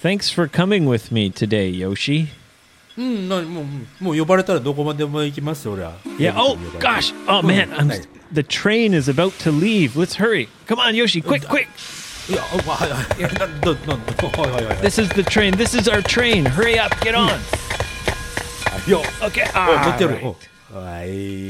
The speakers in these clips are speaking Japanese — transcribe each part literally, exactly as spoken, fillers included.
Thanks for coming with me today, Yoshi. うん、なもうもう呼ばれたらどこまでも行きますよ、俺は。 Yeah. Oh gosh. Oh man, I'm, the train is about to leave. Let's hurry. Come on, Yoshi. Quick, quick. いや、はいはい。などどはいはいはい。 This is the train. This is our train. Hurry up. Get on. いや、 Okay. 乗ってる。 All right. はい。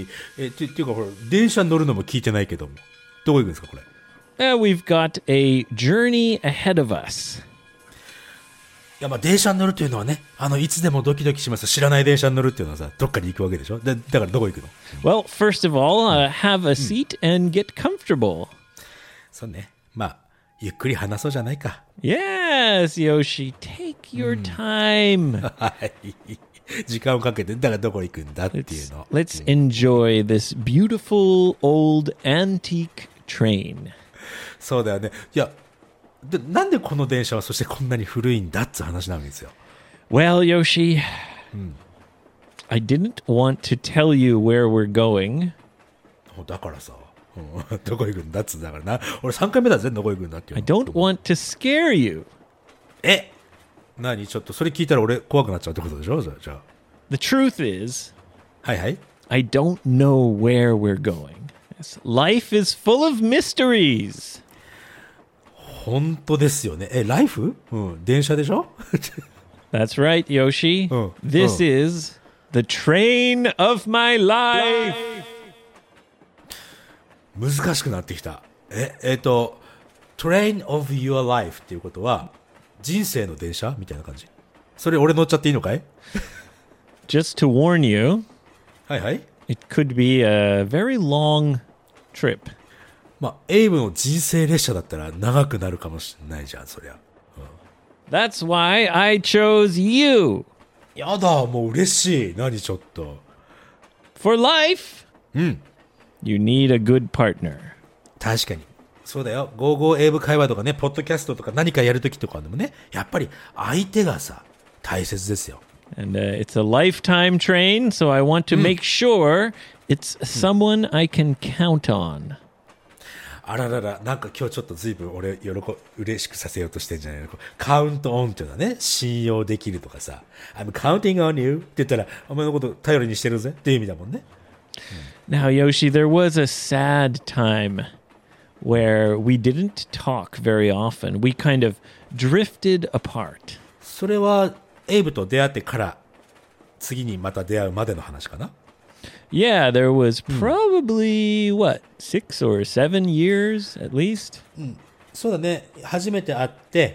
えってっていうかほら電車に乗るのも聞いてないけども、どこ行くんですかこれ。 Uh, we've got a journey ahead of us. いやまあ電車に乗るというのはね、あのいつでもドキドキします。知らない電車に乗るっていうのはさ、どっかに行くわけでしょ。だ, だからどこ行くの？ Well, first of all, uh, have a seat and get comfortable. そうね。まあゆっくり話そうじゃないか。 Yes, Yoshi. Take your time. はい。時間をかけてだからどこ行くんだっていう Let's, の。 let's enjoy this beautiful old antique train. そうだよね。いや。でなんでこの電車はそしてこんなに古いんだって話なんですよ。 Well, Yoshi, I didn't want to tell you where we're going. だからさ、うん、どこ行くんだっつうんだからな。俺さんかいめだぜ、どこ行くんだっていう I の。 don't want to scare you. え、何ちょっとそれ聞いたら俺怖くなっちゃうってことでしょ。じゃあ The truth is, はいはい。 I don't know where we're going. Yes, life is full of mysteries. 本当ですよね。え、ライフ？うん、電車でしょ。 That's right, Yoshi. Oh, This oh. is the train of my life. 難しくなってきた。え、えっと Train of your life っていうことは人生の電車みたいな感じ。それ俺乗っちゃっていいのかい？ Just to warn you, はいはい。 it could be a very long trip. まあエイブの人生列車だったら長くなるかもしれないじゃん、そりゃ。 That's why I chose you. やだ、もう嬉しい。何ちょっと。 For life, うん。 you need a good partner. 確かに。そうだよ。ゴーゴー英語会話とかね、ポッドキャストとか何かやるときとかでもね、やっぱり相手がさ、大切ですよ。 And uh, it's a lifetime train, so I want to make sure it's someone I can count on. あららら、なんか今日ちょっと随分俺喜嬉しくさせようとしてんじゃないの。カウントオンっていうのはね、信用できるとかさ、I'm counting on you って言ったら、お前のこと頼りにしてるぜっていう意味だもんね。 Now, Yoshi, there was a sad time where we didn't talk very often. We kind of drifted apart. それはエイブと出会ってから次にまた出会うまでの話かな。 Yeah, there was probably, what, six or seven years at least? そうだね。初めて会って、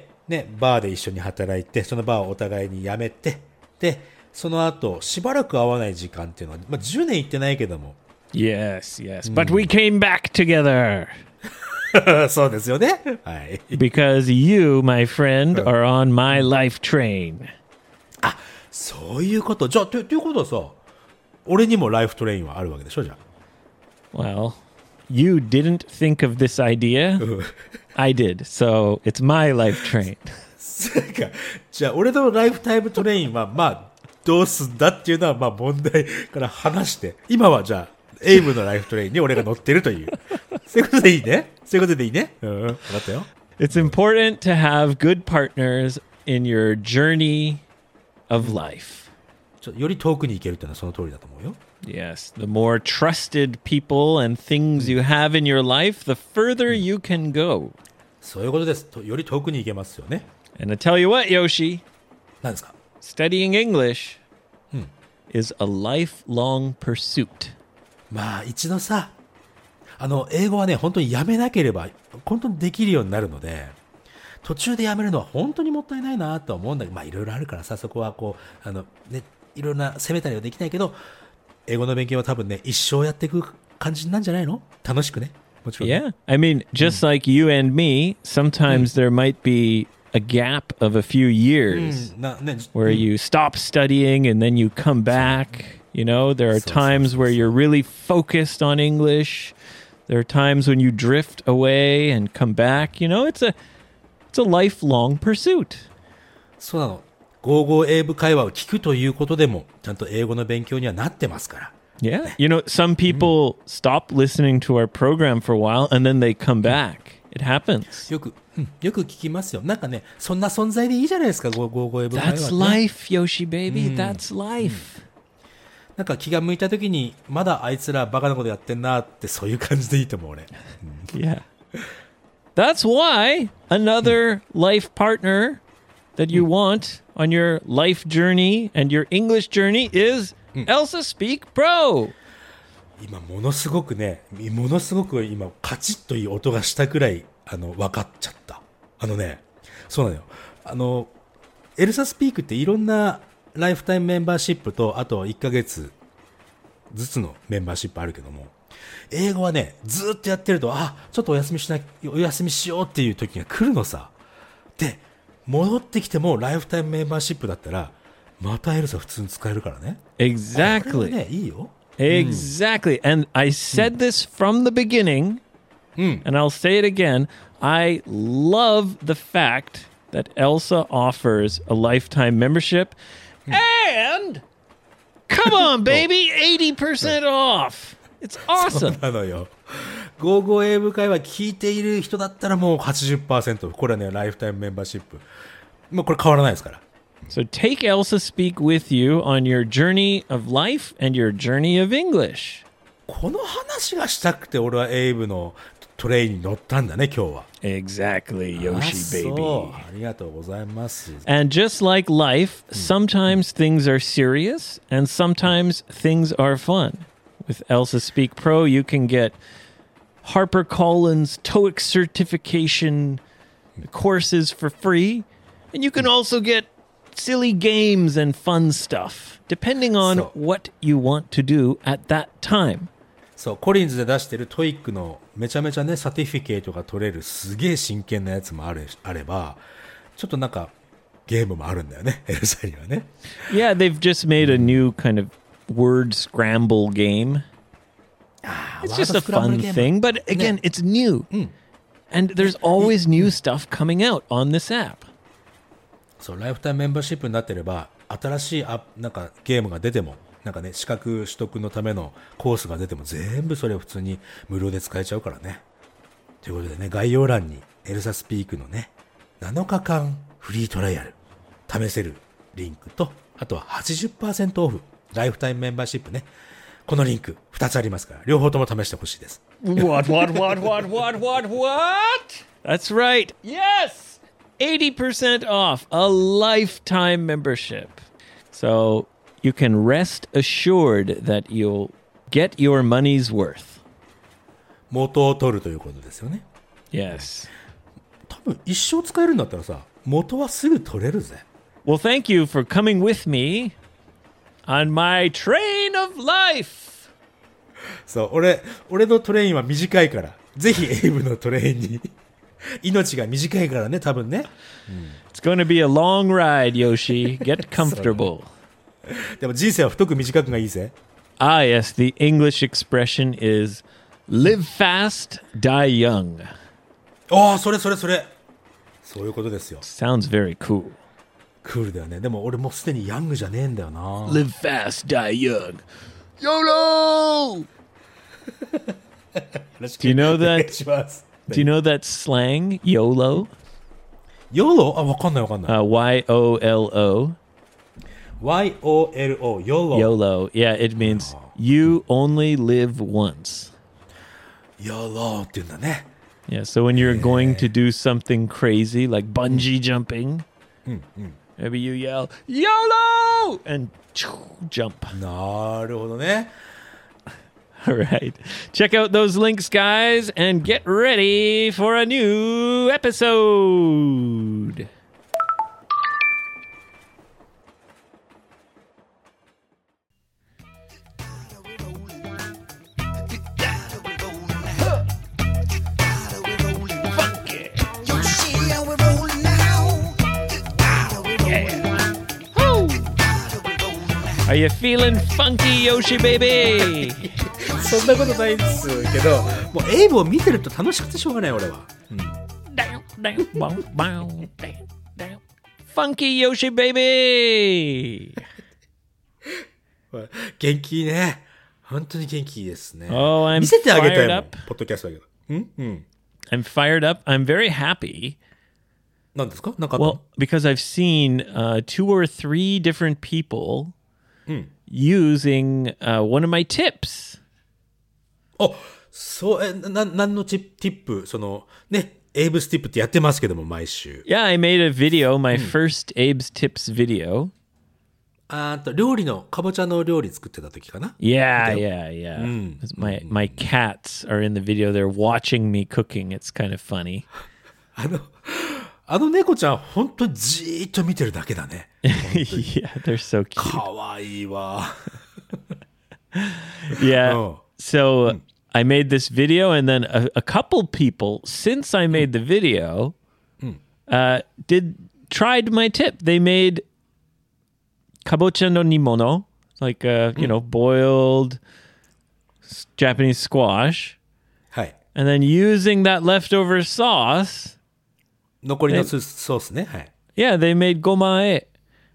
ね、バーで一緒に働いて、そのバーをお互いに辞めて、で、その後、しばらく会わない時間っていうのは、まあ、じゅうねん行ってないけども。 Yes, yes. But we came back together. そうですよね。はい。 Because you, my friend, are on my life train. あ、そういうこと。じゃあ、ということはさ、俺にもライフトレインはあるわけでしょ、じゃあ。 Well, you didn't think of this idea. I did. So it's my life train. そうか。じゃあ、俺のライフタイムトレインは、まあ、どうすんだっていうのは、まあ、問題から話して、今はじゃあ、エイブのライフトレインに俺が乗ってるという。そういうことでいいね。そういうことでいいね。うん、分かったよ。 It's important to have good partners in your journey of life. ちょより遠くに行けるっていうのはその通りだと思うよ。 Yes, the more trusted people and things you have in your life, the further you can go. そういうことです。とより遠くに行けますよね。 And I tell you what, Yoshi, 何ですか？ studying English is a lifelong pursuit. まあ一度さ、あの英語はね本当にやめなければ本当にできるようになるので、途中でやめるのは本当にもったいないなと思うんだけど、まあいろいろあるからさ、そこはこうあのねいろんな責めたりはできないけど、英語の勉強は多分ね一生やっていく感じなんじゃないの？楽しくね。もちろん、ね。 Yeah, I mean, just like you and me, sometimes there might be a gap of a few years なね where you stop studying and then you come back. You know, there are So, so, times so, where so. you're really focused on English. There are times when you drift away and come back. You know, it's a it's a lifelong pursuit. そうなの。ゴーゴー英語会話を聞くということでもちゃんと英語の勉強にはなってますから。 Yeah. You know, some people stop listening to our program for a while and then they come back It happens. よく、うん、よく聞きますよ。なんかね、そんな存在でいいじゃないですか、ゴーゴーゴーエブ会話って That's ね。 life, Yoshi baby. That's life. なんか気が向いた時に、まだあいつらバカなことやってんなって、そういう感じでいいと思う、俺。 Yeah. That's why another life partner that you want on your life journey and your English journey is Elsa Speak Pro. 今ものすごくね、ものすごく今カチッという音がしたくらいあの分かっちゃった。あのね、そうなのよ。あのエルサスピークっていろんなライフタイムメンバーシップとあといっかげつずつのメンバーシップあるけども、英語はねずっとやってると、あ、ちょっとお休みしなお休みしようっていう時が来るのさ。で、戻ってきてもライフタイムメンバーシップだったらまたエルサ普通に使えるからね。 Exactly. これはね、いいよ。 Exactly. And I said this from the beginning, and I'll say it again. I love the fact that Elsa offers a lifetime membership. And come on, baby, eighty percent off. It's そう awesome. なのよ。ゴーゴー英語会話聞いている人だったらもう はちじゅっパーセント。これはね、ライフタイムメンバーシップ。もうこれ変わらないですから。 So take Elsa Speak with you on your journey of life and your journey of English. この話がしたくて俺はエイブのトレインに乗ったんだね、今日は。 Exactly, あ、 Yoshi そう。 baby. ありがとうございます。 And just like life, sometimes things are serious and sometimes things are fun. With Elsa Speak Pro, you can get HarperCollins TOEIC certification courses for free, and you can also get silly games and fun stuff, depending on So- what you want to do at that time. そう、コリンズで出してるトイックのめちゃめちゃね、サティフィケートが取れるすげえ真剣なやつもある、あれば、ちょっとなんかゲームもあるんだよね、エルサにはね。 Yeah, they've just made a new kind of word scramble game. It's just a fun thing, but again, it's new. And there's always new stuff coming out on this app. そう、ライフタイムメンバーシップになってれば、新しいアなんかゲームが出ても、なんかね、資格取得のためのコースが出ても、全部それを普通に無料で使えちゃうからね。ということでね、概要欄にエルサスピークのね、なのかかんフリートライアル、試せるリンクと、あとは はちじゅっパーセント オフ、ライフタイムメンバーシップね。このリンクふたつありますから、両方とも試してほしいです。 What, what, what, what, what, what, what? That's right. Yes! eighty percent off a lifetime membership. So you can rest assured that you'll get your money's worth. 元を取るということですよね。 Yes. 多分一生使えるんだったらさ、元はすぐ取れるぜ。 Well, thank you for coming with me on my train of life. そう、俺、俺のトレインは短いから、ぜひエイブのトレインに。命が短いからね、多分ね。 It's going to be a long ride, Yoshi. Get comfortable. でも人生は太く短くがいいぜ。 Ah, yes. The English expression is live fast, die young. ああ、それそれそれ。そういうことですよ。 Sounds very cool. クールだよね。でも俺もうすでにヤングじゃねえんだよな。 Live fast, die young. YOLO! Do you know お願い that? します。 Do you know that slang, YOLO? ヨロあ、わかんないわかんない。 Uh, Y O L O. ワイオーエルオー、ヨロ。 YOLO. Yeah, it means you only live once. ヨロって言うんだね。 Yeah, so when you're going to do something crazy like bungee jumping, maybe you yell, YOLO! And jump. なるほどね。 All right. Check out those links, guys, and get ready for a new episode. Are you feeling funky, Yoshi baby? そんなことないんですけど、もうエイブを見てると楽しくてしょうがない俺は。 Down, down, bow, bow, down, down. Funky Yoshi baby. 元気いいね。本当に元気いいですね。 Oh, I'm 見せてあげたい fired もん up. ポッドキャストだけど。んうん。 I'm fired up. I'm very happy. 何ですか？なんかあったの？ Well, because I've seen uh, two or three different people using uh, one of my tips. あ、そう、え、な、何のチップ、ティップ、その、ね、エイブスティップってやってますけども、毎週。 Yeah, I made a video, my first Abe's Tips video. あーと、料理の、かぼちゃの料理作ってた時かな？ Yeah, yeah, yeah. My my cats are in the video. They're watching me cooking. It's kind of funny. あの、あの猫ちゃん、本当にじーっと見てるだけだね。 Yeah, they're so cute. かわいいわ。 Yeah. Oh. So I made this video, and then a, a couple people since I made the video uh, did tried my tip. They made kabocha no nimono, like uh, you know, boiled s- Japanese squash, はい。 and then using that leftover sauce, 残りのソソースね。はい。 yeah, they made gomae.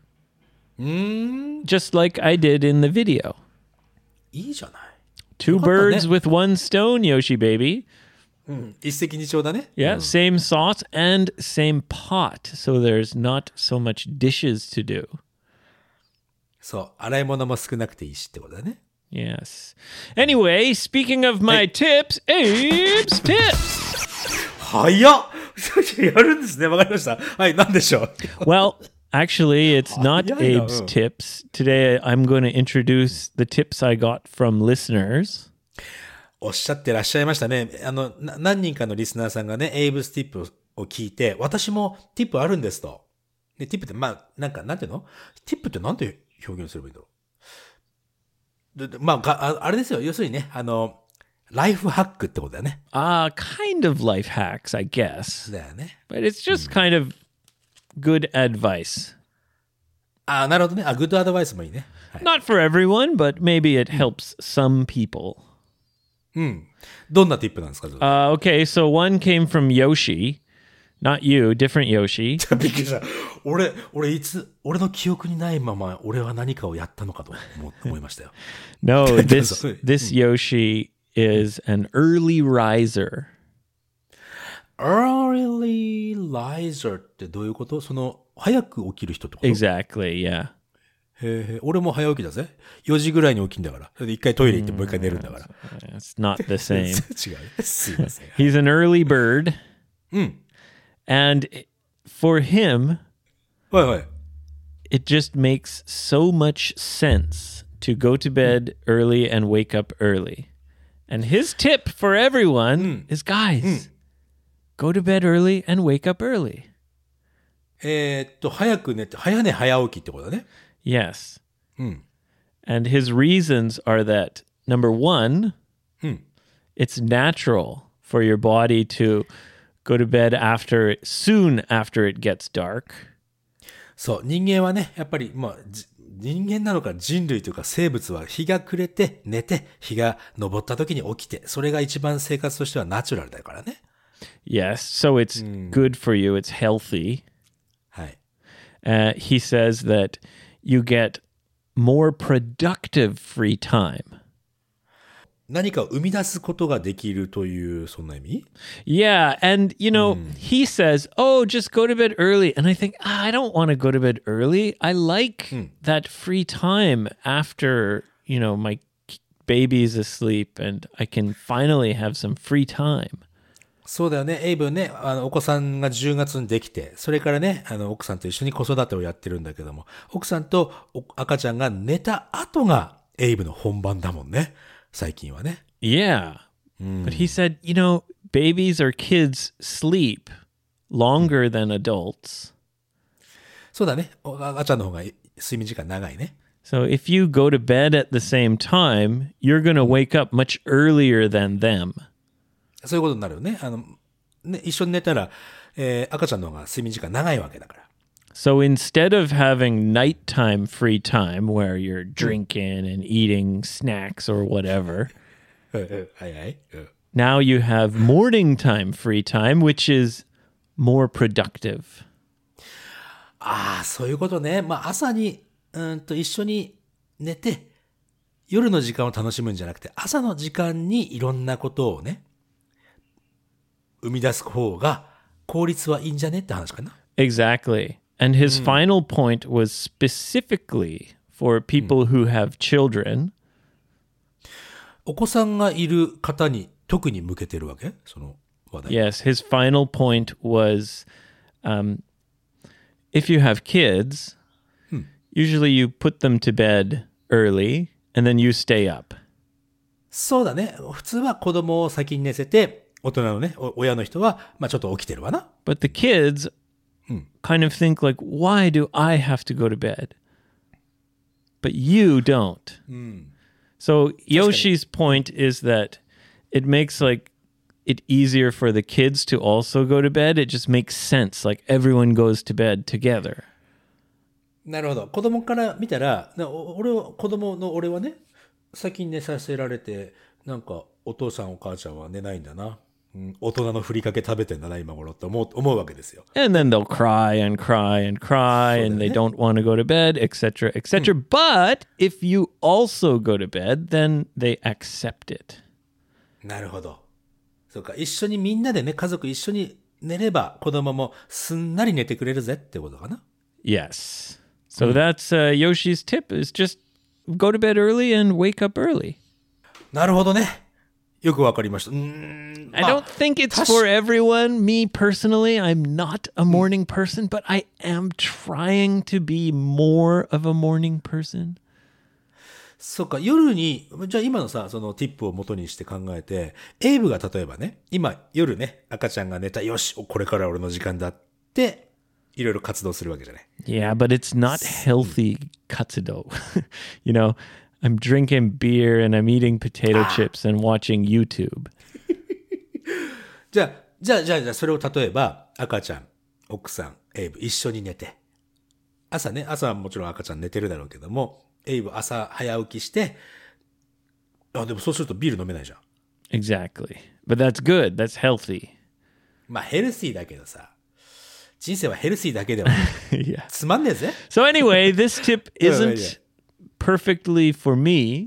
Just like I did in the video. いいじゃない。 Two よかったね。 birds with one stone, Yoshi baby. 一石二鳥だね。 Yeah, same sauce and same pot. So there's not so much dishes to do. そう。洗い物も少なくていいしってことだね。 Yes. Anyway, speaking of my tips, Abe's tips. 早っやるんですね。わかりました。はい、なんでしょう。 Well, actually, it's not yeah, yeah. Abe's tips. Today, I'm going to introduce the tips I got from listeners. おっしゃってらっしゃいましたね。あの、な何人かのリスナーさんがね、エイブスティップを聞いて、私もティップあるんですと。で、ティップって、まあ、なんか、なんていうの？ティップってなんて表現すればいいんだろう。ででまあがあ、あれですよ。要するにね、あの、ライフハックってことだよね。 Uh, kind of life hacks, I guess. だよね。 But it's just kind of good advice. あ、なるほどね。あ、グッドアドバイスもいいね。はい。 Not for everyone, but maybe it helps some people. どんなティップなんですか？ Uh, okay, so one came from Yoshi. Not you, different Yoshi. びっくりした。俺、俺いつ、俺の記憶にないまま、俺は何かをやったのかと思思いましたよ。 No, this Sorry. this Yoshi is an early riser. early riser ってどういうこと？その、早く起きる人ってこと？ Exactly, yeah. へえ、俺も早起きだぜ。よじぐらいに起きんだから。それで一回トイレ行ってもう一回寝るんだから。 It's not the same. 違うね。すいません。 He's an early bird. And for him, はいはい。 it just makes so much sense to go to bed early and wake up early. And his tip for everyone is, guys, go to bed early and wake up early. えーっと、早く寝て、早寝早起きってことだね。 Yes. And his reasons are that, number one, it's natural for your body to go to bed after soon after it gets dark. そう、人間はね、やっぱり、まあ、じ人間なのか人類というか生物は日が暮れて寝て、日が昇った時に起きて、それが一番生活としてはナチュラルだからね。 Yes, so it's good for you. It's healthy. はい。 Uh, he says that you get more productive free time. 何かを生み出すことができるという、そんな意味？ Yeah, and you know, he says, "Oh, just go to bed early." And I think, ah, I don't want to go to bed early. I like that free time after, you know, my baby's asleep and I can finally have some free time. そうだよね。エイブね、あの、お子さんがじゅうがつにできて、それからね、あの、奥さんと一緒に子育てをやってるんだけども、奥さんとお赤ちゃんが寝た後がエイブの本番だもんね。最近はね。 Yeah. But he said, you know, babies or kids sleep longer than adults. そうだね。お赤ちゃんの方が睡眠時間長いね。 So if you go to bed at the same time, you're going to wake up much earlier than them. そういうことになるよね。あの、ね、一緒に寝たら、えー赤ちゃんの方が睡眠時間長いわけだから。 So instead of having nighttime free time where you're drinking and eating snacks or whatever, はいはい。うん now you have morning time free time, which is more productive. ああ、そういうことね。まあ、朝に、うーんと一緒に寝て、夜の時間を楽しむんじゃなくて、朝の時間にいろんなことをね、 生み出す方が効率はいいんじゃねって話かな。 Exactly. And his final point was specifically for people who have children. お子さんがいる方に特に向けてるわけ？その話題。 Yes, his final point was um, if you have kids, usually you put them to bed early and then you stay up. そうだね。普通は子供を先に寝せて、大人のね、お親の人は、まあちょっと起きてるわな。 But the kids kind of think like, why do I have to go to bed? But you don't. So Yoshi's point is that it makes like it easier for the kids to also go to bed. It just makes sense. Like everyone goes to bed together. なるほど。子供から見たら、なお俺は、子供の俺はね、先に寝させられて、なんかお父さんお母ちゃんは寝ないんだな。うん、大人のふりかけ食べてんだな、今頃って思う、思うわけですよ。 And then they'll cry and cry and cry and they don't want to go to bed, et cetera, et cetera. But if you also go to bed, then they accept it. なるほど。そうか、一緒にみんなでね、家族一緒に寝れば子供もすんなり寝てくれるぜってことかな。 Yes. So that's uh, Yoshi's tip is just go to bed early and wake up early. なるほどね。よくわかりました。うーん、 I don't think it's for everyone. Me personally, I'm not a morning person, but I am trying to be more of a morning person. そうか、夜に、じゃあ今のさ、そのティップを元にして考えて、エイブが例えばね、今夜ね、赤ちゃんが寝た、よし、これから俺の時間だって、いろいろ活動するわけじゃない。 Yeah, but it's not healthy katsudo. You know, I'm drinking beer and I'm eating potato chips and watching YouTube. じゃあ、じゃあ、じゃあ、じゃあ、それを例えば、赤ちゃん、奥さん、エイブ、一緒に寝て。朝ね、朝はもちろん赤ちゃん寝てるだろうけども、エイブ朝早起きして、あ、でもそうするとビール飲めないじゃん。 Exactly. But that's good. That's healthy. まあ、ヘルシーだけどさ、人生はヘルシーだけでは Yeah. つまんねえぜ。 So anyway, this tip isn't perfectly for me.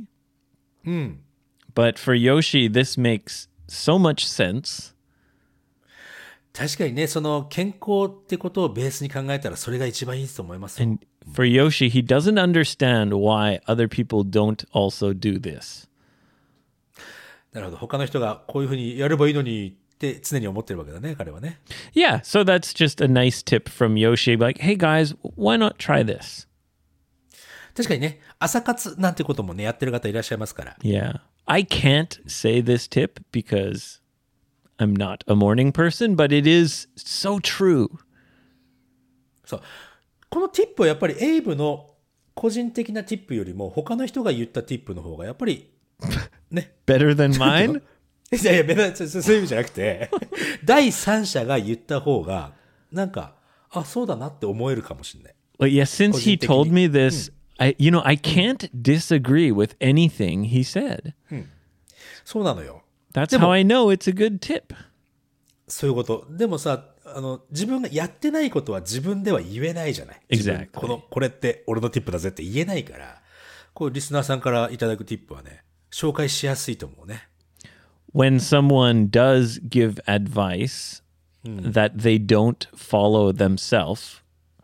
But for Yoshi, this makes so much sense. 確かにね、その健康ってことをベースに考えたらそれが一番いいと思いますよ。 And for Yoshi, he doesn't understand why other people don't also do this. なるほど。他の人がこういうふうにやればいいのにって常に思ってるわけだね、彼はね。 Yeah, so that's just a nice tip from Yoshi. Like, hey guys, why not try this? 確かにね、朝活なんてこともね、やってる方いらっしゃいますから。 Yeah. I can't say this tip because I'm not a morning person, but it is so true. そう。このティップはやっぱりエイブの個人的なティップよりも他の人が言ったティップの方がやっぱりね。 Better than mine? いやいや、別にそういう意味じゃなくて、第三者が言った方が、なんか、あ、そうだなって思えるかもしれない。 Well, yeah, since he told me this, I, you know, I can't disagree with anything he said. そうなのよ。 That's how I know it's a good tip. そういうこと。でもさ、あの、自分がやってないことは自分では言えないじゃない。 Exactly. この、これって俺のティップだぜって言えないから、こう、リスナーさんからいただくティップはね、紹介しやすいと思うね。 When someone does give advice that they don't follow themselves,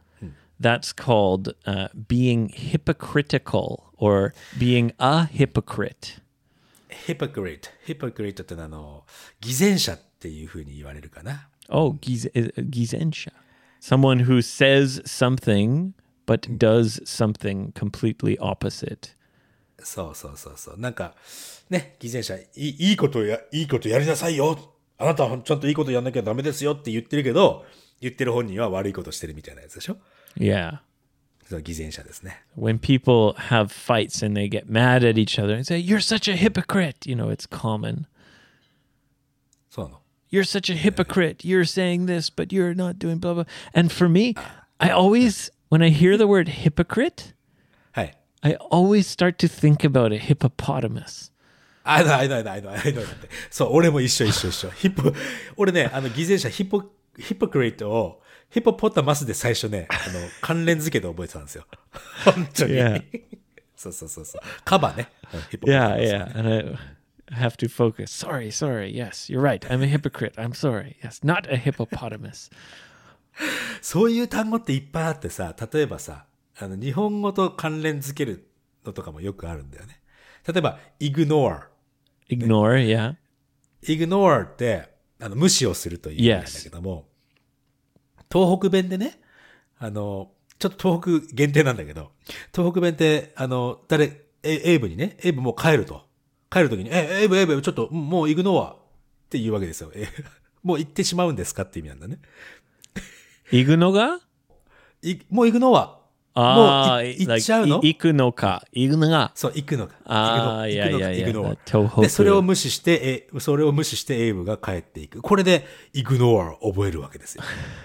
that's called uh, being hypocritical or being a hypocrite. hypocrite. hypocrite ってのはあの、偽善者っていうふうに言われるかな。 Oh, giz- uh, gizensha. Someone who says something but does something completely opposite. そうそうそうそう。なんか、ね、偽善者、いい、いいことや、いいことやりなさいよ。あなたはちゃんといいことやんなきゃダメですよって言ってるけど、言ってる本人は悪いことしてるみたいなやつでしょ？ Yeah. その偽善者ですね。 When people have fights and they get mad at each other and say, "You're such a hypocrite," you know, it's common. そうなの。 You're such a hypocrite. You're saying this, but you're not doing blah, blah. And for me, I always, when I hear the word hypocrite, はい。 I always start to think about a hippopotamus. あの、あの、あの、あの、あの、って。そう、俺も一緒一緒一緒。ヒポ、俺ね、あの、偽善者、ヒポ、ヒポクリットを、ヒポポタマスで最初ね、あの、関連付けで覚えてたんですよ。本当に。 Yeah. そうそうそうそう。カバね。ヒポポタマ Yeah, ス yeah. And I have to focus. Sorry, sorry. Yes, you're right. I'm a hypocrite. I'm sorry. Yes, not a hippopotamus. そういう単語っていっぱいあってさ、例えばさ、あの、日本語と関連づけるのとかもよくあるんだよね。例えば、ignore。 Ignore, yeah. ignore って、あの、無視をするという意味なんだけども、yes. 東北弁でね、あの、ちょっと東北限定なんだけど、東北弁って、あの、誰、エイブにね、エイブもう帰ると。帰るときに、え、エイブ、エイブ、ちょっと、もうイグノアって言うわけですよ。もう行ってしまうんですかって意味なんだね。 行くのがもう行くのは、 ああ、 行っちゃうの、 行くのか。行くのが。 そう、行くのか。 ああ、いやいやいや。 で、それを無視して、え、それを無視してエイブが帰っていく。これで、イグノアを覚えるわけですよ。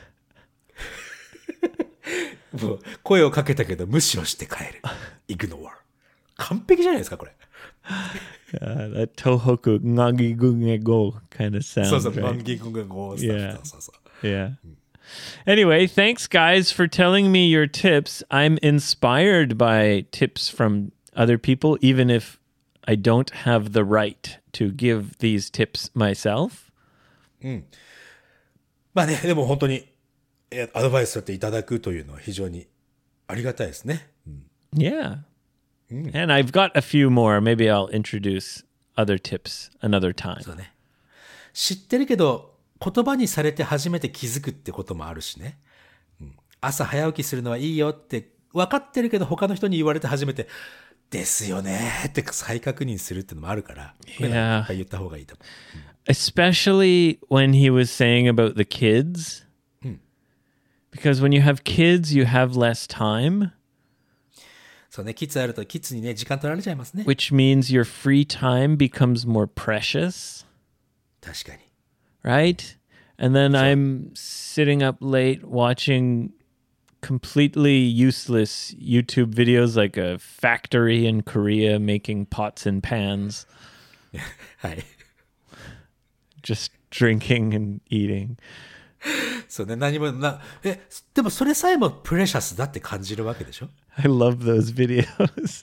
もう声をかけたけど無視をして帰る。イグノア。完璧じゃないですか、これ。 Uh, that Tohoku Ngagi Gunge Go kind of sound. そうそう、 right? Ngagi Gunge Go. Yeah. そうそう。 Yeah. Anyway, thanks guys for telling me your tips. I'm inspired by tips from other people, even if I don't have the right to give these tips myself. うん。まあね、でも本当にアドバイスだっていただくというのは非常にありがたいですね。うん、 Yeah. And I've got a few more. Maybe I'll introduce other tips another time. そうね。知ってるけど、言葉にされて初めて気づくってこともあるしね。うん、朝早起きするのはいいよって分かってるけど、他の人に言われて初めて、ですよねって再確認するってのもあるから、 Yeah. 言った方がいいと思う。 うん、Especially when he was saying about the kids. うん、 Because when you have kids, you have less time. そうね、キッズあるとキッズにね、時間取られちゃいますね。 Which means your free time becomes more precious. 確かに。 Right? And then I'm sitting up late watching completely useless YouTube videos like a factory in Korea making pots and pans. はい。 Just drinking and eating. そうね、何もな、え、でもそれさえもプレシャスだって感じるわけでしょ？ I love those videos.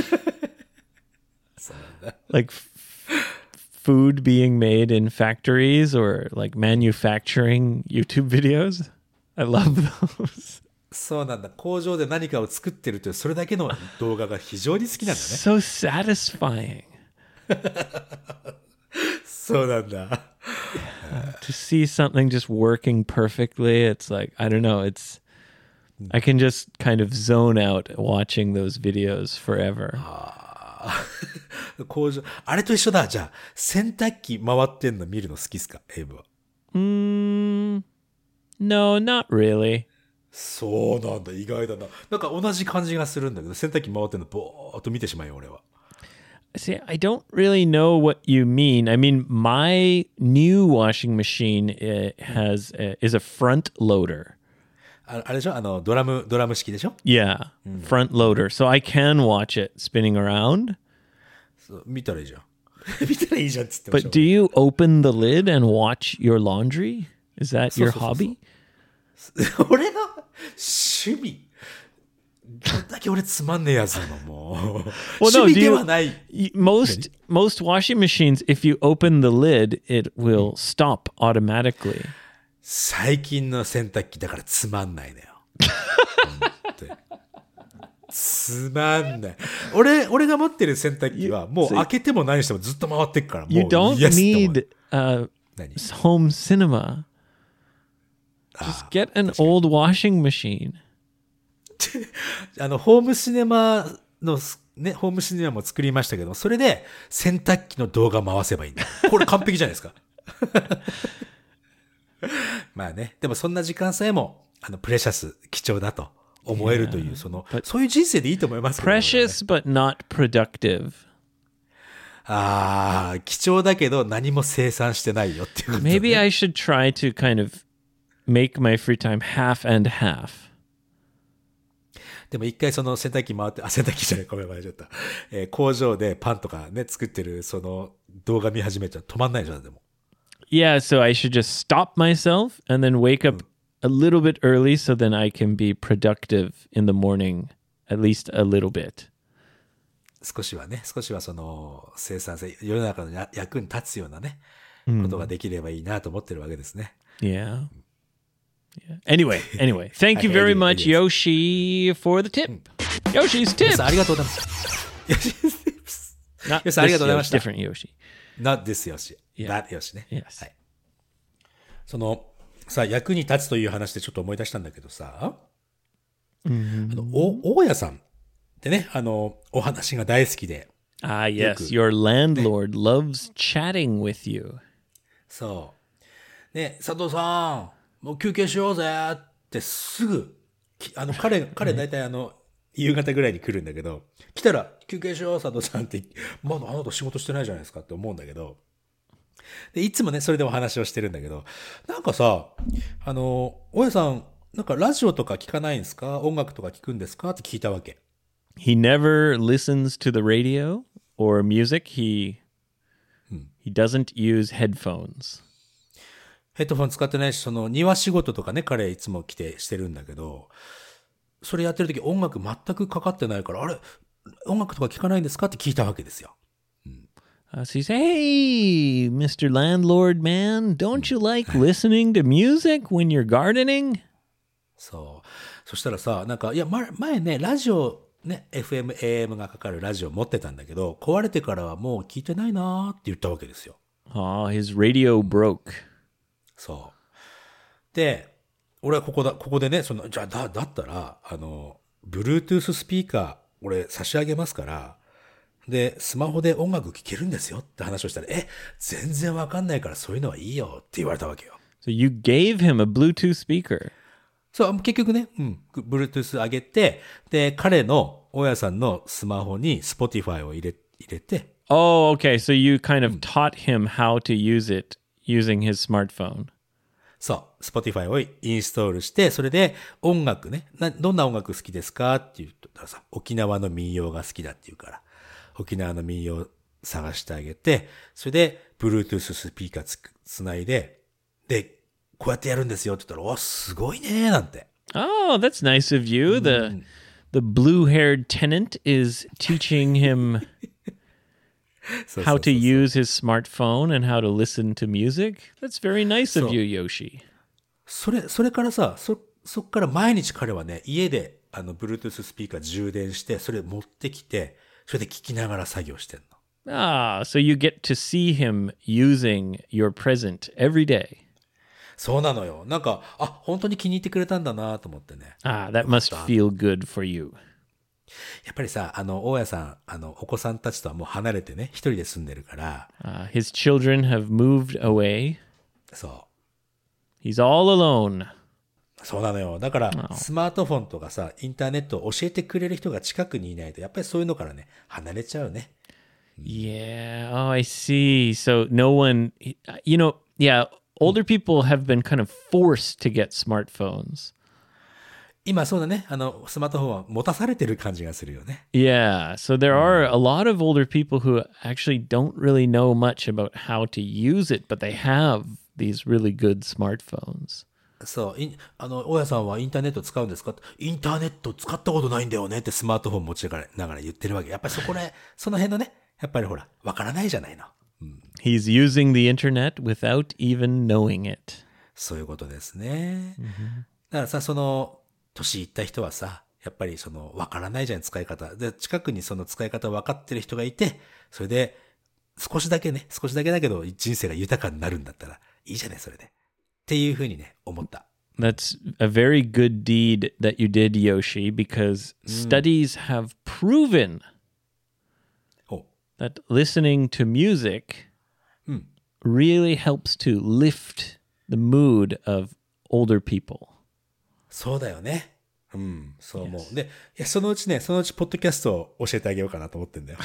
Like f- food being made in factories or like manufacturing YouTube videos. I love those. そうなんだ。工場で何かを作ってるというそれだけの動画が非常に好きなんだね。 So satisfying. そうなんだ。 To see something just working perfectly, it's like, I don't know, it's, I can just kind of zone out watching those videos forever. 工場、あれと一緒だ。じゃあ、洗濯機回ってんの見るの好きっすか、エイブは。 Mm, no, not really. そうなんだ、意外だな。なんか同じ感じがするんだけど、洗濯機回ってんのぼーっと見てしまうよ、俺は。 See, I don't really know what you mean. I mean, my new washing machine uh, has uh, is a front loader. あ, あれでしょ、あのドラムドラム式でしょ。 Yeah, mm. front loader. So I can watch it spinning around. そう見たらいいじゃん。見たらいいじゃんっつってました。 But do you open the lid and watch your laundry? Is that your hobby? 俺の趣味。どんだけ俺つまんねえやつなのもう。 Well, no, 趣味ではない。 You, most most washing machines, if you open the lid, it will stop automatically. 最近の洗濯機だからつまんないのよ。つまんない。俺俺が持ってる洗濯機はもう開けても何してもずっと回ってっから。もう You don't need uh, home cinema. Just get an old washing machine. あのホームシネマのね、ホームシネマも作りましたけど、それで洗濯機の動画回せばいいんだ。これ完璧じゃないですか。まあね、でもそんな時間さえもあのプレシャス貴重だと思えるという、そのそういう人生でいいと思いますけど、ね。 Precious but not productive. ああ、貴重だけど何も生産してないよっていうこと、ね。 Maybe I should try to kind of make my free time half and half. でも一回その洗濯機回って、あ、洗濯機じゃない、ごめん、間違えた。えー、工場でパンとかね、作ってるその動画見始めちゃ止まんないじゃん、でも。 Yeah, so I should just stop myself and then wake up a little bit early so then I can be productive in the morning, at least a little bit. 少しはね、少しはその生産性、世の中のや役に立つようなね、ことができればいいなと思ってるわけですね。 Yeah. Yeah. Anyway, anyway, thank you very much, Yoshi, for the tip. Yoshi's 皆 tips. さんありがとうございます。Yoshi's tips. Not 皆さんありがとうございま this した。 Yoshi, different Yoshi. Not this Yoshi. Yeah. That Yoshi ね。 Yes. はい。その、さ、役に立つという話でちょっと思い出したんだけどさ、 Mm-hmm. あの、お、大家さんってね、あの、お話が大好きで、 Ah, yes. Your landlord loves chatting with you. そう。ね、佐藤さん、もう休憩しようぜってすぐ、きあの、彼、彼大体あの、夕方ぐらいに来るんだけど、来たら休憩しよう佐藤さんって、まだあなた仕事してないじゃないですかって思うんだけど、で、いつもね、それでお話をしてるんだけど、なんかさ、あの、大家さん、なんかラジオとか聞かないんですか？音楽とか聞くんですかって聞いたわけ。 He never listens to the radio or music. He he doesn't use headphones. ヘッドフォン使ってないし、その庭仕事とかね、彼いつも来てしてるんだけど、それやってる時音楽全くかかってないから、あれ、音楽とか聞かないんですかって聞いたわけですよ。 Uh, so you say, "Hey, Mister Landlord Man, don't you like listening to music when you're gardening?" そう。そしたらさ、なんか、いや、前前ね、ラジオ、ね、エフエム、エーエム がかかるラジオ持ってたんだけど、壊れてからはもう聞いてないなーって言ったわけですよ。 Oh, his radio broke. そう。で、俺はここだ、ここでね、その、じゃあ、だ、だったら、あの、Bluetooth スピーカー、俺差し上げますから、で、スマホで音楽聴けるんですよって話をしたら、え、全然わかんないからそういうのはいいよって言われたわけよ。 So you gave him a Bluetooth speaker. そう、結局ね、うん、Bluetooth 上げて、で、彼の、大家さんのスマホに Spotify を入れ、入れて、 Oh, okay. So you kind of taught him how to use it using his smartphone. そう、Spotify をインストールして、それで音楽ね、などんな音楽好きですかって言ったらさ、沖縄の民謡が好きだって言うから、沖縄の民謡探してあげて、それで Bluetooth スピーカーつ、つないで、で、こうやってやるんですよって言ったら、お、すごいねーなんて。 Oh, that's nice of you. The the blue-haired tenant is teaching him そうそう how そう to use his smartphone and how to listen to music. That's very nice of you, Yoshi. それ、それからさ、そ、そっから毎日彼はね、家で、あの、Bluetooth スピーカー充電して、それ持ってきて、それで聞きながら作業してんの。 Ah, so you get to see him using your present every day. そうなのよ。なんか、あ、本当に気に入ってくれたんだなと思ってね。 Ah, that must feel good for you. やっぱりさ、あの、大家さん、あの、お子さんたちとはもう離れてね、一人で住んでるから、 Uh, his children have moved away. そ He's all alone. う。そうなのよ。だから、スマートフォンとかさ、インターネットを教えてくれる人が近くにいないと、やっぱりそういうのからね、離れちゃうね。 Yeah. Oh, I see. So no one, you know, yeah, older people have been kind of forced to get smartphones. 今そうだね、あの、スマートフォンは持たされてる感じがするよね。 Yeah. So there are a lot of older people who actually don't really know much about how to use it, but they have these really good smartphones. そう、いあの、大家さんはインターネット使うんですか？インターネット使ったことないんだよねってスマートフォン持ちながら言ってるわけ。やっぱりそこで、その辺のね、やっぱりほら、わからないじゃないの。 He's using the internet without even knowing it. そういうことですね。だからさ、その、年いった人はさ、やっぱりその、わからないじゃん、使い方。で、近くにその使い方分かってる人がいて、それで、少しだけね、少しだけだけど、人生が豊かになるんだったら、いいじゃない、それで。っていうふうにね、思った。 That's a very good deed that you did, Yoshi, because studies have proven お that listening to music really helps to lift the mood of older people. そうだよね。うん、そう思う。で、いや、そのうちね、そのうちポッドキャストを教えてあげようかなと思ってんだよ。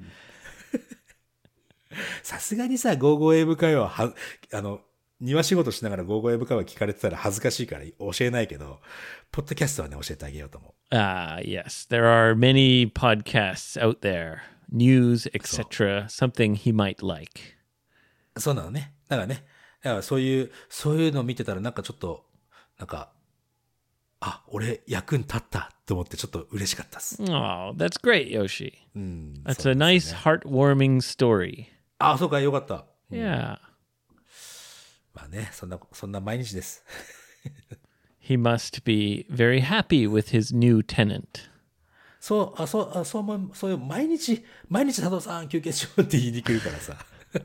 さすがにさ、ゴーゴーエーブ会話は、あの、庭仕事しながらゴーゴーエーブ会話聞かれてたら恥ずかしいから教えないけど、ポッドキャストはね、教えてあげようと思う。 Ah, yes. There are many podcasts out there, news, et cetera, something he might like. そうなのね。だからね、だからそういう、そういうのを見てたらなんかちょっと、なんか、あ、俺役に立ったっと思ってちょっと嬉しかったです。 Oh, that's great, Yoshi. うん、 That's そう a です nice, ね。 heartwarming story. あ、そうか、よかった。 Yeah. まあね、そんな、そんな毎日です。 He must be very happy with his new tenant. そう、あ、そう、あ、そう思う、そういう、毎日、毎日佐藤さん休憩しようって言いに来るからさ。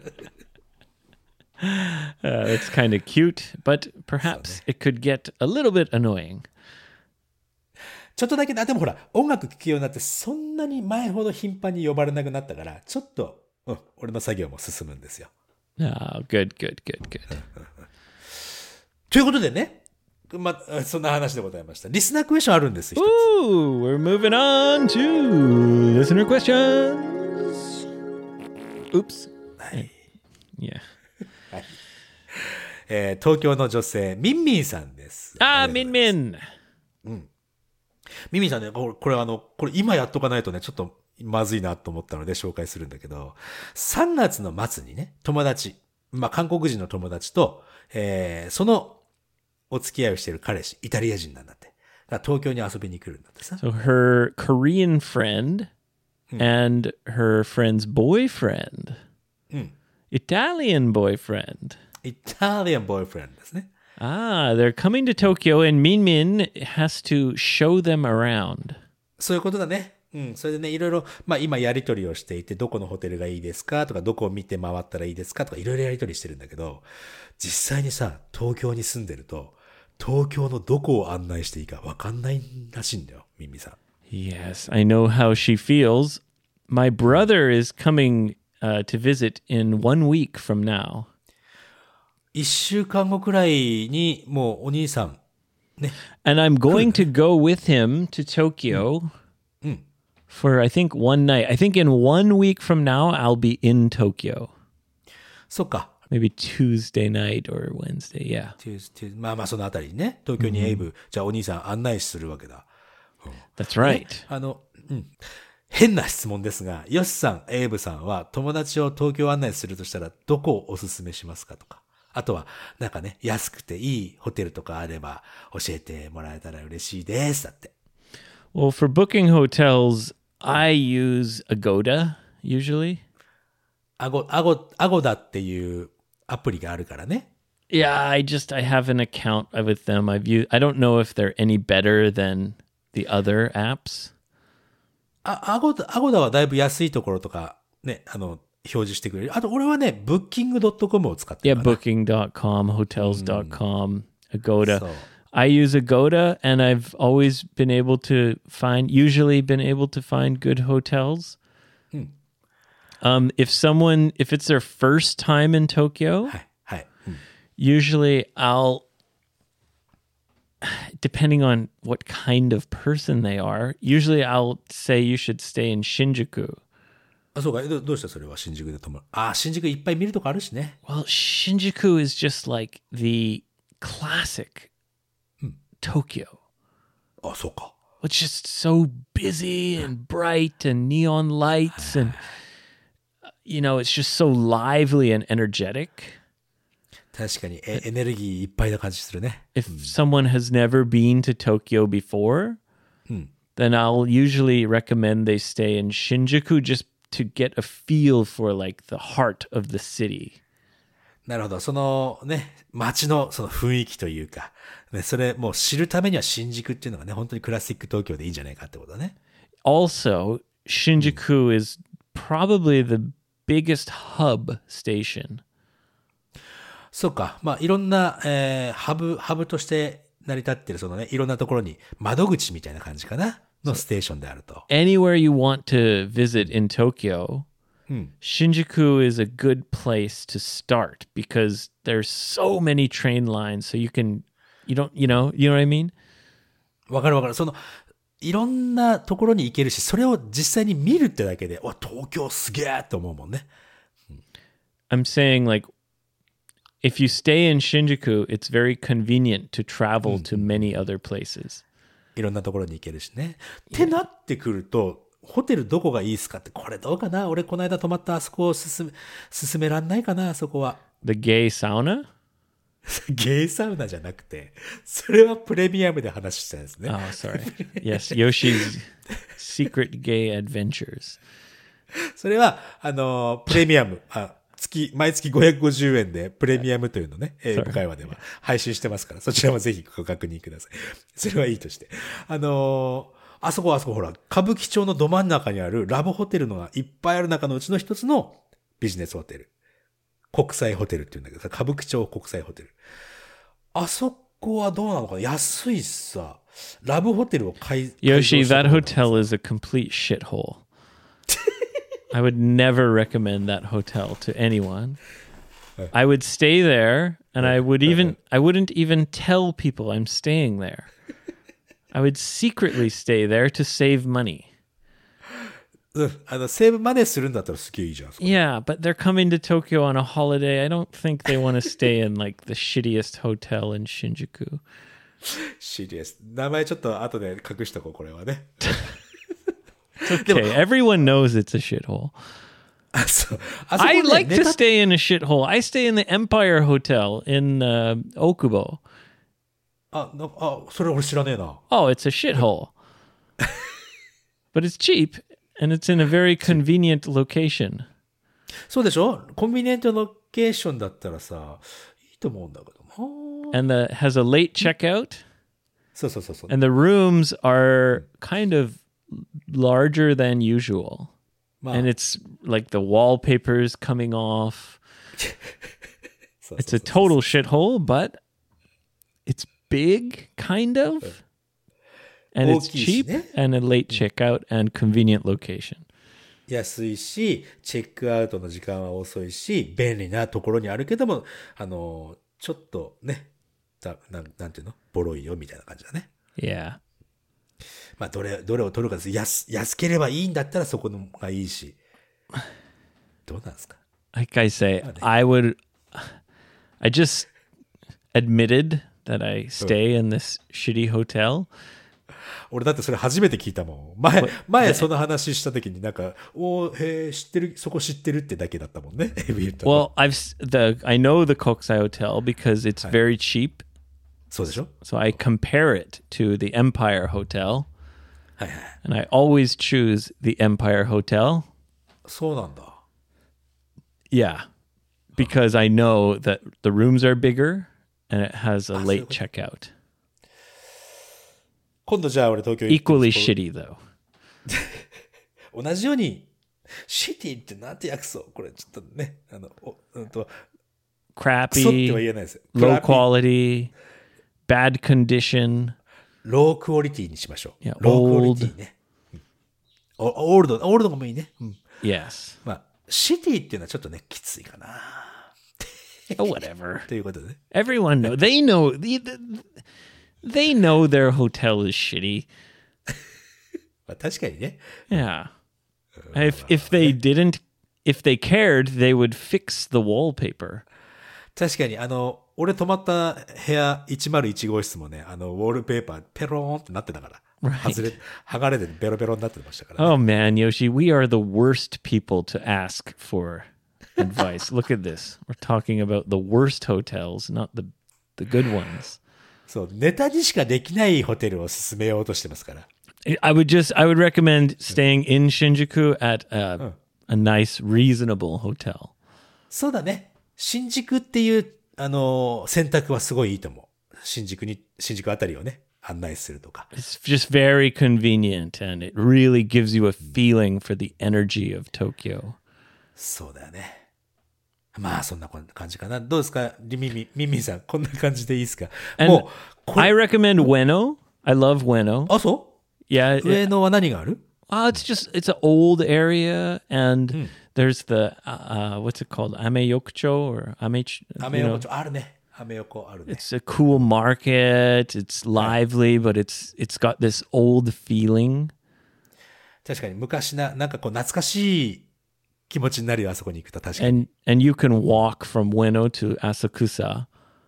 Uh, it's kind of cute, but perhaps it could get a little bit annoying. ちょっとだけ、あ、でもほら、音楽聴くようになって、そんなに前ほど頻繁に呼ばれなくなったから、ちょっと、うん、俺の作業も進むんですよ。 Oh, good, good, good, good. ということでね、まあ、そんな話でございました。リスナークエスチョンあるんです、一つ。 Ooh, we're moving on to listener questions. Oops. はい。 Yeah. えー東京の女性、ミンミンさんです。 Ah, Min Min. ミンミンさんね、これ、これあの、これ今やっとかないとね、ちょっとまずいなと思ったので紹介するんだけど、さんがつの末にね、友達、まあ、韓国人の友達と、えーそのお付き合いをしている彼氏、イタリア人なんだって。だから東京に遊びに来るんだってさ。 So her Korean friend and her friend's boyfriend, Italian boyfriend. イタリアンボーイフレンドですね。 Ah, they're coming to Tokyo, and Min Min has to show them around. そういうことだね。うん。それでね、いろいろ、まあ今やりとりをしていて、どこのホテルがいいですかとか、どこを見て回ったらいいですかとか、いろいろやりとりしてるんだけど、実際にさ、東京に住んでると、東京のどこを案内していいか分かんないらしいんだよ、ミンミさん。 Yes, I know how she feels. My brother is coming uh, to visit in one week from now. 一週間後くらいに、もうお兄さん、ね。 And I'm going to go with him to Tokyo for, I think, one night. I think in one week from now, I'll be in Tokyo. そっか。 Maybe Tuesday night or Wednesday, yeah. テューステューまあまあそのあたりにね、東京にエイブ、じゃあお兄さん案内するわけだ。 That's right. あの、うん。変な質問ですが、ヨシさん、エイブさんは友達を東京案内するとしたらどこをおすすめしますかとか。あとは、なんかね、安くていいホテルとかあれば教えてもらえたら嬉しいです。だって。 Well, for booking hotels, I use Agoda usually. アゴ、アゴ、アゴダっていうアプリがあるからね。 Yeah, I just I have an account with them. I've used. I don't know if they're any better than the other apps. あ、アゴダ、アゴダはだいぶ安いところとかね、あの、表示してくれる。あと俺はね、ブッキングドットコム を使ってる Yeah, かな。 booking dot com, hotels dot com, Agoda. そう。 I use Agoda, and I've always been able to find, usually been able to find good hotels. Um, if someone, if it's their first time in Tokyo, はい、はい。うん usually I'll, depending on what kind of person they are, usually I'll say you should stay in Shinjuku. あ、そうか。どどうしたそれは新宿で泊まる。あ、新宿いっぱい見るとこあるしね。 Well, Shinjuku is just like the classic Tokyo. あ、そうか。 It's just so busy and bright and neon lights and, you know, it's just so lively and energetic. 確かにエエネルギーいっぱいな感じするね。 If someone has never been to Tokyo before, then I'll usually recommend they stay in Shinjuku just to get a feel for like the heart of the city. なるほど。そのね、街のその雰囲気というか、ね、それもう知るためには新宿っていうのがね、本当にクラシック東京でいいんじゃないかってことだね。 Also, Shinjuku is probably the biggest hub station. そうか。まあ、いろんな、えー、ハブ、ハブとして成り立ってる、そのね、いろんなところに窓口みたいな感じかなのステーションであると。 Anywhere you want to visit in Tokyo, Shinjuku is a good place to start because there's so many train lines. So you can, you don't, you know, you know what I mean? わかるわかる。その、いろんなところに行けるし、それを実際に見るってだけで、わ、東京すげえって思うもんね。 I'm saying like, if you stay in Shinjuku, it's very convenient to travel to many other places. いろんなところに行けるしね。ってなってくると、ホテルどこがいいですかって、これどうかな俺この間泊まったあそこを進め、進めらんないかなあそこは。 The gay sauna? ゲイサウナじゃなくて、それはプレミアムで話したんですね。 Oh, sorry. Yes, Yoshi's Secret Gay Adventures. それは、あの、プレミアム、あ、月、毎月ごひゃくごじゅうえんでプレミアムというのね、英語会話では配信してますから、そちらもぜひご確認ください。それはいいとして。あのー、あそこあそこほら、歌舞伎町のど真ん中にあるラブホテルのがいっぱいある中のうちの一つのビジネスホテル。国際ホテルっていうんだけどさ、歌舞伎町国際ホテル。あそこはどうなのかな、安いしさ、ラブホテルを買い、 Yoshi, that hotel is a complete shithole. I would never recommend that hotel to anyone. I would stay there, and I would even I wouldn't even tell people I'm staying there. I would secretly stay there to save money. うん、あの、セーブマネーするんだったらすげえいいじゃん。 Yeah, but they're coming to Tokyo on a holiday. I don't think they want to stay in like the shittiest hotel in Shinjuku. シリアス。名前ちょっと後で隠しとこう、これはね。 Okay, everyone knows it's a shithole. あ、そう。あそこ I ね like ネ to タ stay in a shithole. I stay in the Empire Hotel in uh, Okubo. あ、なあ、それ俺知らねえな。 Oh, it's a shithole. But it's cheap, and it's in a very convenient location. そうでしょ、コンビニエントロケーションだったらさ、いいと思うんだけどな。 And the has a late checkout, そうそうそうそう。 and the rooms are kind of larger than usual. まあ、 And it's like the wallpaper's coming off. そうそう It's そう a total shithole, but it's big, kind of. And it's 大きいし cheap ね。 and a late checkout and convenient location. 安いし、チェックアウトの時間は遅いし、便利なところにあるけども、あの、ちょっとね、だなん、なんていうの、ボロいよみたいな感じだね。 Yeah. まあ、どれ、どれを取るかです。安、安ければいいんだったらそこのがいいし。どうなんですか？ Like I say, I would. I just admitted that I stay in this shitty hotel. 俺だってそれ初めて聞いたもん。前、前その話した時になんか、おー、へー、知ってる、そこ知ってるってだけだったもんね。 Well, I've s- the I know the Kokusai Hotel because it's very cheap. そうでしょ？ So I compare it to the Empire Hotel, はいはい。 and I always choose the Empire Hotel. そうなんだ。 Yeah, because I know that the rooms are bigger and it has a Ah, late so- checkout. 今度じゃあ俺東京行って Equally そこ shitty though. 同じように、シティってなんて訳そうこれちょっとね、あの、おうんと、クソっては Crappy, 言えないですよ。 low クラピ quality, bad condition. ロークオリティにしましょう。 いやロークオリティね。うんおオールド、オールドもいいね。うん、 Yes. まあ、シティっていうのはちょっとね、きついかな。 Oh, whatever. ということでね。 Everyone know. They know. They, they know their hotel is shitty. まあ、確かにね。 Yeah. If if they didn't, if they cared, they would fix the wallpaper. 確かに、あの、俺泊まった部屋いちまるいち号室もね、あの、ウォールペーパーペローンってなってたから。外れ、剥がれてベロベロになってましたから、ね。 Oh man, Yoshi, we are the worst people to ask for advice. Look at this. We're talking about the worst hotels, not the the good ones. そう、ネタにしかできないホテルを勧めようとしてますから。 I would just, I would recommend staying in Shinjuku at a, a nice, reasonable hotel. そうだね。新宿っていう、あの、選択はすごいいいと思う。新宿に、新宿あたりをね、案内するとか。 It's just very convenient, and it really gives you a feeling for the energy of Tokyo. そうだよね。まあ、そんな感じかな。どうですかミミ、ミミさん、こんな感じでいいですか And もう、こ I れ、 recommend Ueno. I love Ueno. あ、そ Yeah, う上野は何がある oh, it's just it's an old area, and there's the uh, uh, what's it called, Ameyokucho or Ame. アメ横丁あるね。アメ横あるね。 It's a cool market. It's lively, but it's it's got this old feeling. 確かに昔な、なんかこう懐かしい気持ちになるよ、あそこに行くと確かに。 And and you can walk from Ueno to Asakusa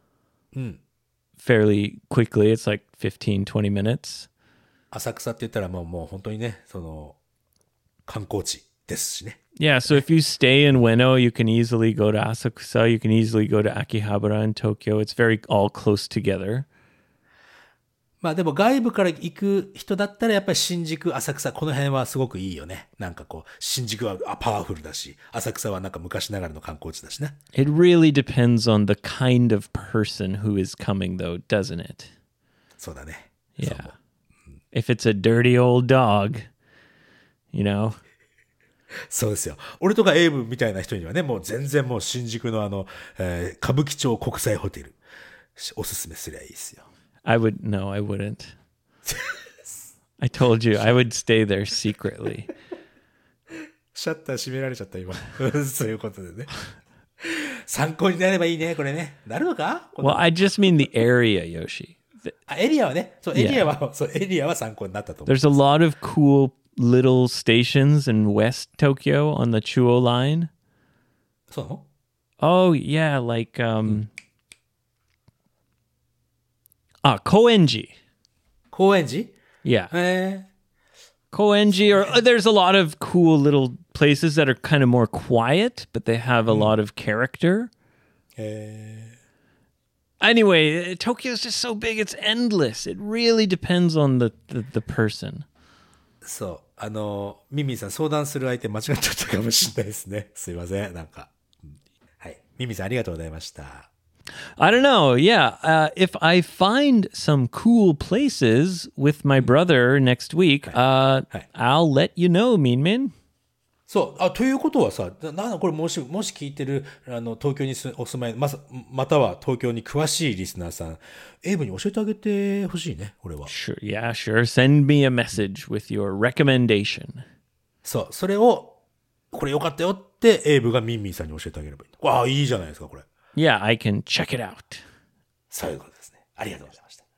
fairly quickly. It's like fifteen, twenty minutes. 浅草って言ったらもうもう本当にね、その、観光地ですしね。 Yeah, so if you stay in Ueno, you can easily go to Asakusa, you can easily go to Akihabara in Tokyo. It's very all close together. まあでも外部から行く人だったらやっぱり新宿、浅草、この辺はすごくいいよね。なんかこう、新宿はパワフルだし、浅草はなんか昔ながらの観光地だしね。 It really depends on the kind of person who is coming though, doesn't it? そうだね。 Yeah. If it's a dirty old dog, you know. そうですよ。俺とかエイブみたいな人にはね、もう全然もう新宿のあの、えー、歌舞伎町国際ホテル、おすすめすりゃいいですよ。 I would, no, I wouldn't. I told you, I would stay there secretly. シャッター閉められちゃった今。そういうことでね。参考になればいいね、これね。なるのか Well, I just mean the area, Yoshi. あ、エリアはね。そう、エリアは、yeah. そう、エリアは参考になったと思う。 There's a lot of cool little stations in West Tokyo on the Chuo line. そうなの Oh, yeah, like, um... Ah, Koenji. Koenji? Yeah. Eh. Koenji, or uh, there's a lot of cool little places that are kind of more quiet, but they have a mm. lot of character. Eh. Anyway, Tokyo is just so big, it's endless. It really depends on the, the, the person. そう。あの、ミミさん相談する相手間違っちゃったかもしれないですね。すいません。なんか。はい。ミミさんありがとうございました。 I don't know. Yeah. Uh, if I find some cool places with my brother next week, uh, I'll let you know, Minmin. そう。あ、ということはさ、な、これもし、もし聞いてる、あの、東京にお住まい、まさ、または東京に詳しいリスナーさん、エイブに教えてあげてほしいね、これは。 Sure. Yeah, sure. Send me a message with your recommendation. そう。それを、これよかったよって、エイブがミンミンさんに教えてあげればいい。わあ、いいじゃないですか、これ。 Yeah, I can check it out. そういうことですね。ありがとうございました。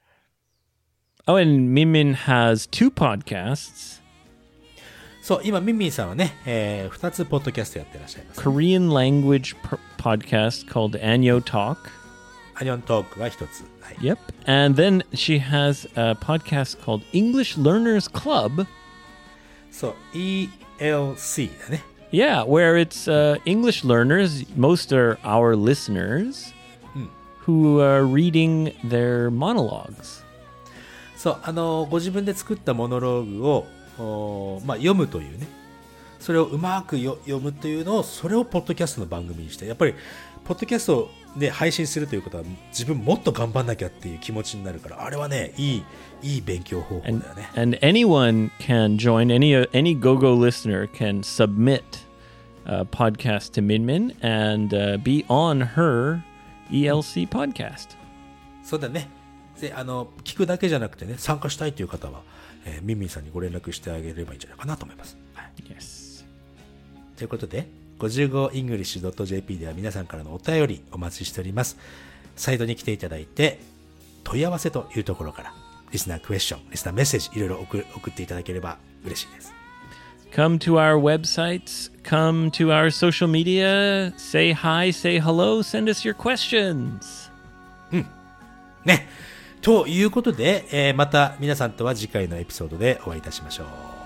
Oh, and Minmin has two podcasts. そう、今、ミンミンさんはね、えー、二つポッドキャストやってらっしゃいます。 Korean language per- podcast called Anyo Talk. Anyo Talk が一つ。はい、 Yep. And then she has a podcast called English Learners Club. そう、イーエルシー だね。 Yeah, where it's uh, English learners, most are our listeners, mm. who are reading their monologues. そう、あの、ご自分で作ったモノローグを、おまあ、読むというね、それをうまくよ読むというのを、それをポッドキャストの番組にして、やっぱり、ポッドキャストで配信するということは、自分もっと頑張んなきゃっていう気持ちになるから、あれはね、いい、いい勉強方法だよね。 And, and anyone can join, any, any GoGo listener can submit a podcast to Minmin and uh, be on her E L C podcast. そうだね。で、あの、聞くだけじゃなくてね、参加したいという方は、えー、ミンミンさんにご連絡してあげればいいんじゃないかなと思います。はい、 Yes. ということで、ごじゅうごイングリッシュドットジェーピー では皆さんからのお便りお待ちしております。サイトに来ていただいて、問い合わせというところから、リスナークエスチョン、リスナーメッセージ、いろいろ 送, 送っていただければ嬉しいです。 Come to our websites, come to our social media, say hi, say hello, send us your questions. うん。ね。ということで、えー、また皆さんとは次回のエピソードでお会いいたしましょう。